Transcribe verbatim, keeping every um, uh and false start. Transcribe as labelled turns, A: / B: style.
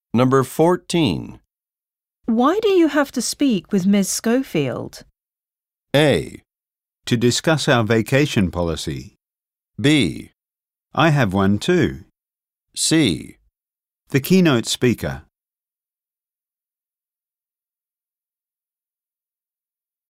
A: Number fourteen.
B: Why do you have to speak with Miss Schofield?
A: A.
C: To discuss our vacation policy.
A: B.
C: I have one too.
A: C.
C: The keynote speaker.